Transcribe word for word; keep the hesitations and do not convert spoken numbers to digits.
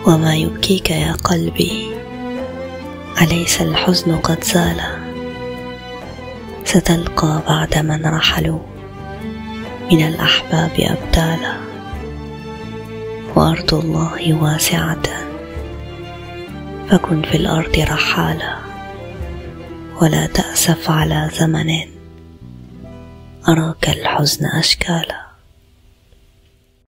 وما يبكيك يا قلبي؟ أليس الحزن قد زال؟ ستلقى بعد من رحلوا من الأحباب أبدالا، وأرض الله واسعة فكن في الأرض رحالا، ولا تأسف على زمن أراك الحزن أشكالا.